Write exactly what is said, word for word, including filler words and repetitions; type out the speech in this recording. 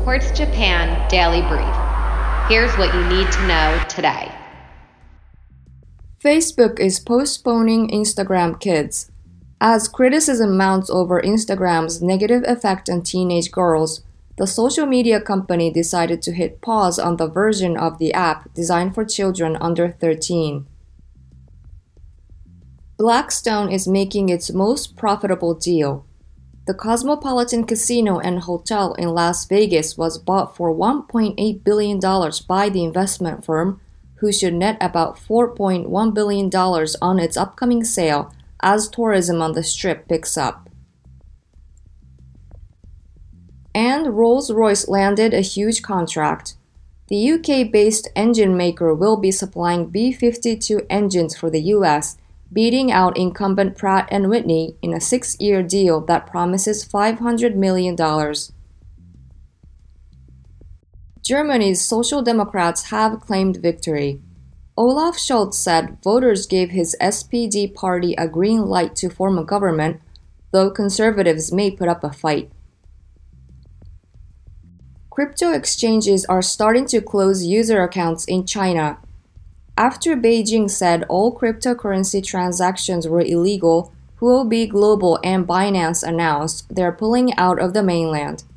Quartz Japan Daily Brief. Here's what you need to know today. Facebook is postponing Instagram Kids. As criticism mounts over Instagram's negative effect on teenage girls, the social media company decided to hit pause on the version of the app designed for children under thirteen. Blackstone is making its most profitable deal. The Cosmopolitan Casino and Hotel in Las Vegas was bought for one point eight billion dollars by the investment firm, who should net about four point one billion dollars on its upcoming sale as tourism on the Strip picks up. And Rolls-Royce landed a huge contract. The U K-based engine maker will be supplying B fifty-two engines for the U S, beating out incumbent Pratt and Whitney in a six-year deal that promises five hundred million dollars. Germany's Social Democrats have claimed victory. Olaf Scholz said voters gave his S P D party a green light to form a government, though conservatives may put up a fight. Crypto exchanges are starting to close user accounts in China. After Beijing said all cryptocurrency transactions were illegal, Huobi Global and Binance announced they're pulling out of the mainland.